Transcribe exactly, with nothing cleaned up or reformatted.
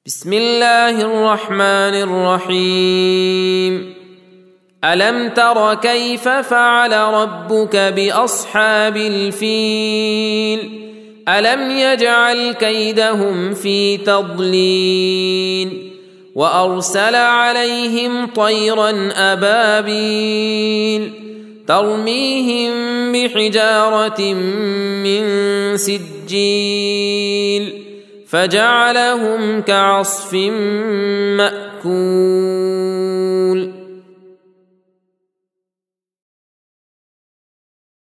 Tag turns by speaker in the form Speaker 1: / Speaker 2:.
Speaker 1: بسم الله الرحمن الرحيم. ألم تر كيف فعل ربك بأصحاب الفيل؟ ألم يجعل كيدهم في تضليل وأرسل عليهم طيرا أبابيل ترميهم بحجارة من سجيل فجعلهم كعصف مأكول.